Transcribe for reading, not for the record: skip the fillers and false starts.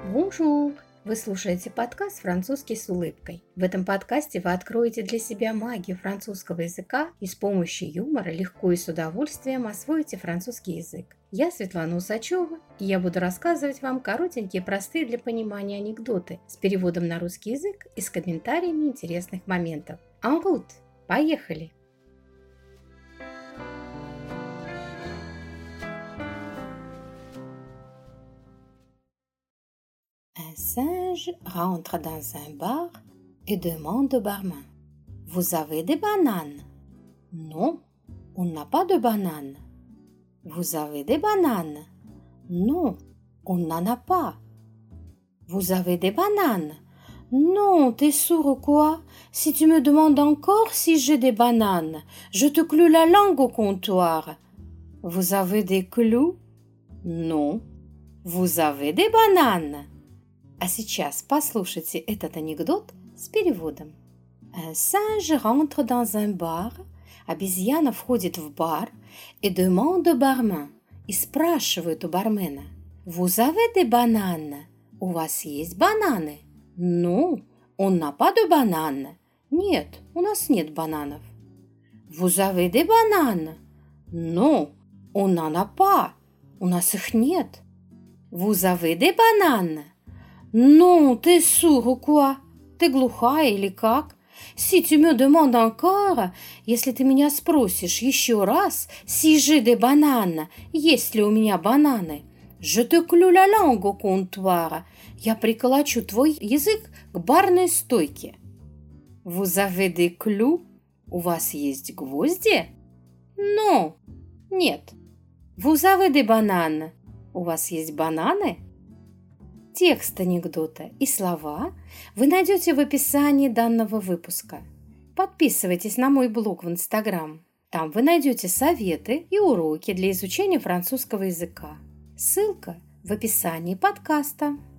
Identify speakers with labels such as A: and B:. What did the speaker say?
A: Бонжур! Вы слушаете подкаст «Французский с улыбкой». В этом подкасте вы откроете для себя магию французского языка и с помощью юмора легко и с удовольствием освоите французский язык. Я Светлана Усачева, и я буду рассказывать вам коротенькие, простые для понимания анекдоты с переводом на русский язык и с комментариями интересных моментов. En route! Поехали! Un singe rentre dans un bar et demande au barman: Vous avez des bananes? Non, on n'a pas de bananes. Vous avez des bananes? Non, on n'en a pas. Vous avez des bananes? Non, t'es sourd ou quoi? Si tu me demandes encore si j'ai des bananes, je te cloue la langue au comptoir. Vous avez des clous? Non. Vous avez des bananes? А сейчас послушайте этот анекдот с переводом. Un singe rentre dans un bar. Обезьяна входит в бар et demande au barman. И спрашивает у бармена: Vous avez des bananes? У вас есть бананы? Non, on n'a pas de bananes. Нет, у нас нет бананов. Vous avez des bananes? Non, on n'en a pas. У нас их нет. Vous avez des bananes? Non, t'es sourd ou quoi? Ты глухая или как? Si tu me demandes encore, если ты меня спросишь еще раз, si j'ai des bananes, есть ли у меня бананы, je te cloue la langue au comptoir, я приколочу твой язык к барной стойке. Vous avez des clous? У вас есть гвозди? Non, нет. Vous avez des bananes? У вас есть бананы? Текст анекдота и слова вы найдете в описании данного выпуска. Подписывайтесь на мой блог в Инстаграм. Там вы найдете советы и уроки для изучения французского языка. Ссылка в описании подкаста.